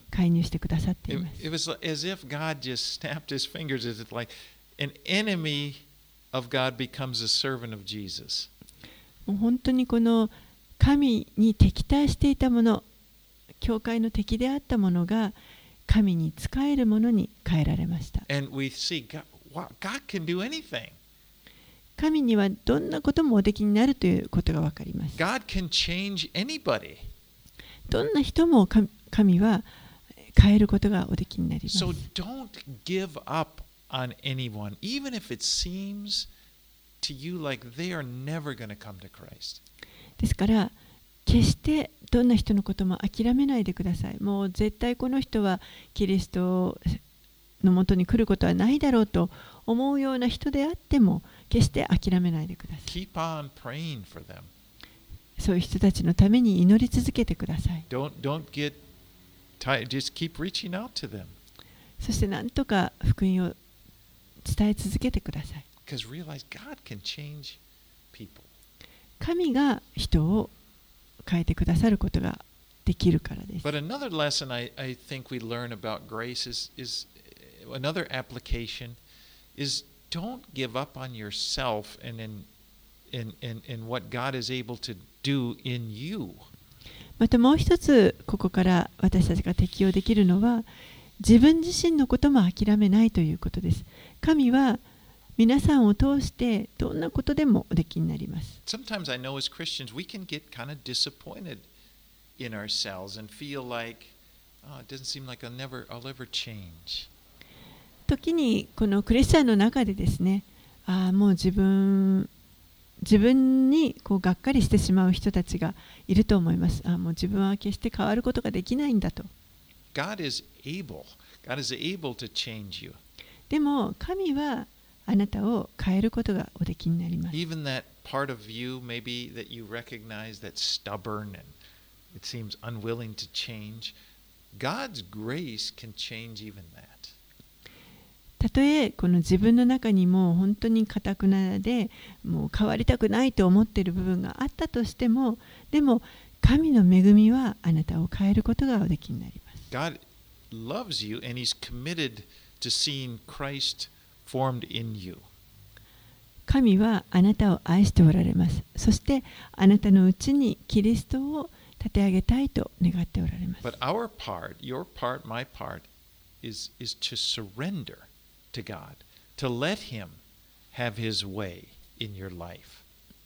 S2: 介入してくださってい
S1: It,
S2: ます。
S1: it was as if God just snapped his fingers. It's like an enemy of God becomes a servant of Jesus.
S2: もう本当にこの神に敵対していたもの、教会の敵であったものが神に仕えるものに変えられました。
S1: And we see God, wow, God can do anything.
S2: 神にはどんなこともおできになるということがわかります。
S1: God can change anybody.
S2: どんな人も神神は変えることがおできになります。
S1: So don't give up on anyone, even if it seems to you like they are never going to come to Christ.
S2: ですから決してどんな人のことも諦めないでください。もう絶対この人はキリストのもとに来ることはないだろうと思うような人であっても決して諦めないでください。
S1: Keep on praying for them.
S2: そういう人たちのために祈り続けてください。
S1: Don't don't get tired. Just keep reaching out to them.
S2: そして何とか福音を伝え続けてください。
S1: Because realize God can change people.
S2: 神が人を変えてくださることができるからです。
S1: But another lesson I, I think we learn about grace is, is another application is don't give up on yourself and in, in, in, in what God is able to do in you.
S2: またもう一つここから私たちが適用できるのは自分自身のことも諦めないということです。神は皆さんを通してどんなことでもおできになります。
S1: Sometimes I know as Christians we can get kind of disappointed in ourselves and feel like, oh, it doesn't seem like I'll never, I'll ever change.
S2: 時にこのクリスチャンの中でですね、ああもう自分自分にこうがっかりしてしまう人たちがいると思います。ああもう自分は決して変わることができないんだと。
S1: God is able. God is able to change you.
S2: でも神はあなたを変えることがおできになります。
S1: Even that part of you maybe that you recognize that's stubborn and it seems unwilling to change, God's grace can change even that.
S2: たとえこの自分の中にも本当に堅くなでもう変わりたくないと思っている部分があったとしても、でも神の恵みはあなたを変えることがおできになります。
S1: God loves you and He's committed to seeing Christ formed in you.
S2: 神はあなたを愛しておられます。そしてあなたのうちにキリストを立て上げたいと願っておられます。
S1: But our part, your part, my part, is, is to surrender to God, to let Him have His way in your life.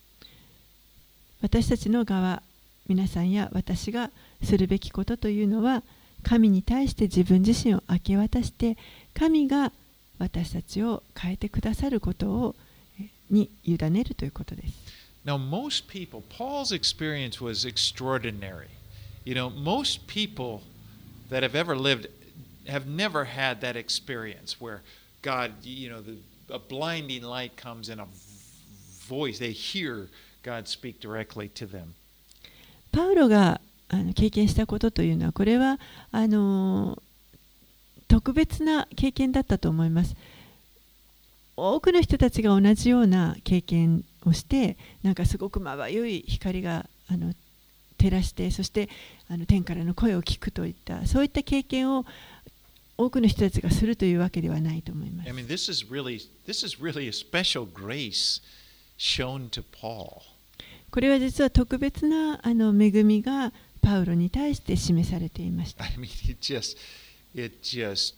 S2: 私たちの側、皆さんや私がするべきことというのは、神に対して自分自身を明け渡して、神が私たちを変えてくださることをに委ねるということです。
S1: Now, most people, Paul's experience was extraordinary. You know, most people that have ever lived have never had that experience where God, you know, the, a blinding light comes in a voice. They hear God speak directly to them.
S2: パウロがあの経験したことというのは、これはあの特別な経験だったと思います。多くの人たちが同じような経験をして、なんかすごくまばゆい光があの照らして、そしてあの天からの声を聞くといった、そういった経験を多くの人たちがするというわけではないと思います。
S1: I mean, this is really, this is really a special grace shown to Paul.
S2: これは実は特別なあの恵みがパウロに対して示されていました。
S1: I mean, it just, it just,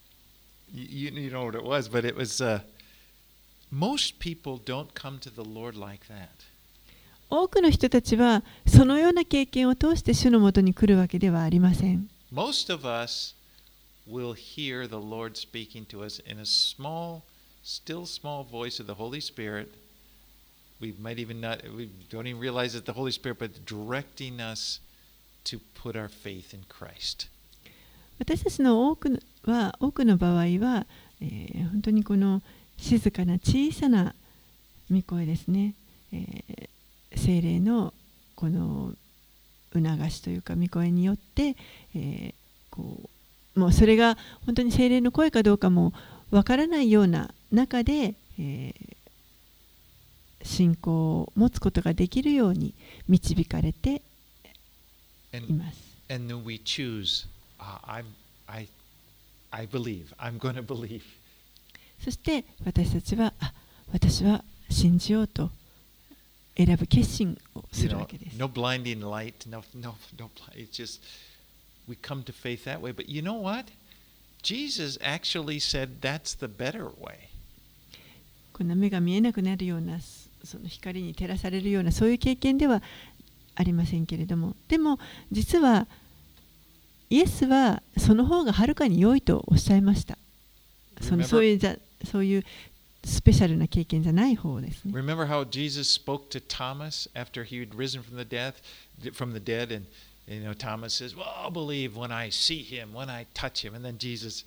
S1: you, you know what it was, but it was, uh, most people don't come to the Lord like that.
S2: 多くの人たちはそのような経験を通して主のもとに来るわけではありません。
S1: Most of us will hear the Lord speaking to us in a small, still small voice of the Holy Spirit. We might even not, we don't even realize it's the Holy Spirit, but directing us to put our faith in Christ.
S2: 私たちの多くは多くの場合は、えー、本当にこの静かな小さな御声ですね、えー、聖霊のこの促しというか御声によって、えー、こうもうそれが本当に聖霊の声かどうかもわからないような中で、えー、信仰を持つことができるように導かれています。
S1: And, and then we choose uh, I'm, I, I believe. I'm going to believe.
S2: そして私たちは、あ、私は信じようと選ぶ決心をす
S1: You
S2: る
S1: know,
S2: わけです。
S1: no blinding light. No, no, no. It's just we come to faith that way. But you know what? Jesus actually said that's the better way.
S2: こんな目が見えなくなるような、その光に照らされるようなそういう経験ではありませんけれども、でも実はイエスはその方がはるかに良いとおっしゃいました。そのそういうじゃそういうスペシャルな経験じゃない方ですね。
S1: Remember how Jesus spoke to Thomas after he had risen from the death, from the dead, and you know Thomas says, "Well, I'll believe when I see him, when I touch him." And then Jesus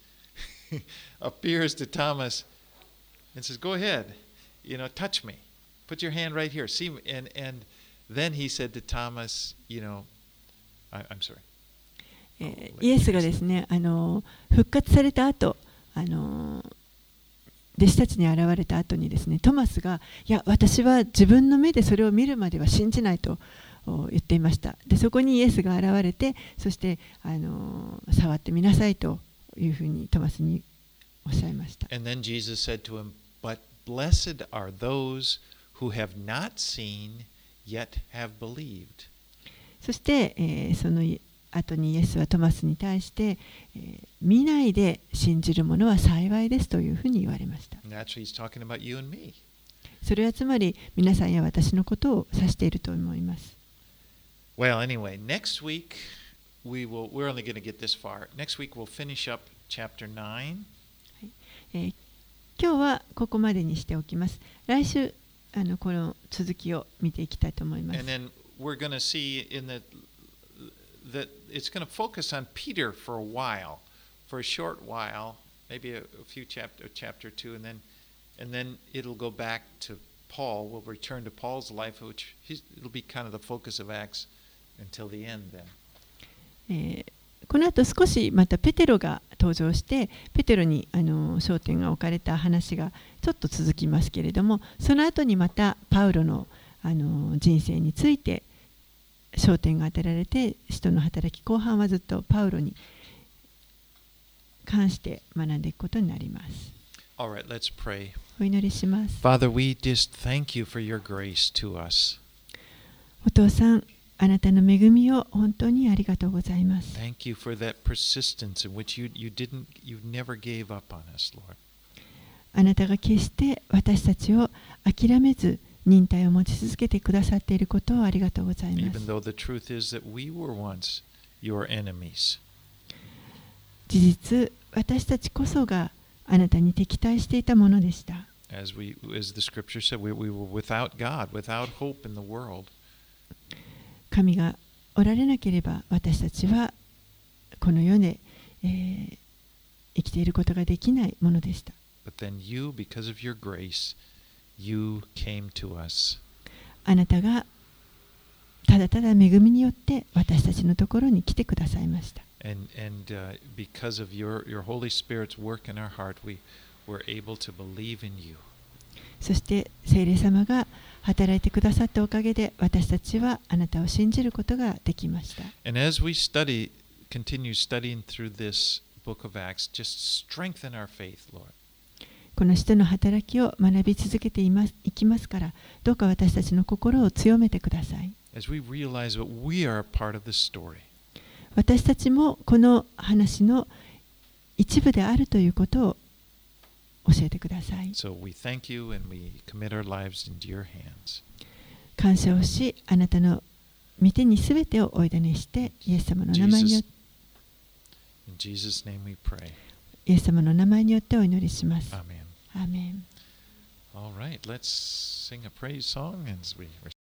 S1: appears to Thomas and says, "Go ahead, you know, touch me. Put your hand right here. See me." And and then he said to Thomas, "You know, I, I'm sorry."
S2: えーイエスがですね、あの復活された後、あの弟子たちに現れた後にですね、トマスが、いや、私は自分の目でそれを見るまでは信じないと言っていました。で、そこにイエスが現れて、そしてあの触ってみなさいというふうにトマスにおっしゃいました。
S1: And then Jesus said to him, "But blessed are those who have not seen yet have believed."
S2: そして、えー、その後にイエスはトマスに対して、えー、見ないで信じる者は幸いですというふうに言われました。
S1: Naturally, he's talking about you and me.
S2: それはつまり皆さんや私のことを指していると思います。
S1: Well, anyway, next week we will. We're only going to get this far. Next week we'll finish up chapter nine.
S2: えー、今日はここまでにしておきます。来週あのこの続きを見ていきたいと思います。
S1: And then we're going to see in the that it's going to focus on Peter for a while, for a short while, maybe a, a few chapter, chapter two, and then, and then it'll go back to Paul. We'll return to Paul's life, which he's, it'll be kind of the focus of Acts until the end. Then.
S2: えーこの後少しまたペテロが登場してペテロにあの焦点が置かれた話がちょっと続きますけれども、その後にまたパウロのあの人生について焦点が当てられて、使徒の働き後半はずっとパウロに関して学んでいくことになります。
S1: All right, let's pray.
S2: お祈りします。
S1: Father, we just thank you for your grace to us.
S2: お父さん、あなたの恵みを本当にありがとうございます。
S1: Thank you for that persistence in which you, you didn't, you never gave up on us, Lord.
S2: あなたが決して私たちを諦めず忍耐を持ち続けてくださっていることをありがとうございます。
S1: Even though the truth is that we were once your enemies.
S2: 事実、私たちこそがあなたに敵対していたものでした。
S1: As we, as the scripture said, we, we were without God, without hope in the world.
S2: 神がおられなければ私たちはこの世で、えー、生きていることができないものでした。
S1: But then you, because of your grace, you came to us.
S2: あなたがただただ恵みによって私たちのところに来てくださいました。
S1: And, and uh, because of your, your Holy Spirit's work in our heart, we were able to believe in you.
S2: そして聖霊様が働いてくださったおかげで私たちはあなたを信じることができました。
S1: And as we study, continue studying through this book of Acts, just strengthen our faith, Lord.
S2: この使徒の働きを学び続けています、いきますから、どうか私たちの心を強めてください。
S1: As we realize that we are a part of the story.
S2: 私たちもこの話の一部であるということを教えてください。
S1: So we thank you and we commit our lives into your hands.
S2: 感謝をし、あなたの御手にすべてをお委ねして、イエス様の名前によって、
S1: In Jesus' name we pray.
S2: イエス様の名前によってお祈りします。
S1: Amen.
S2: アーメン。
S1: All right, let's sing a praise song as we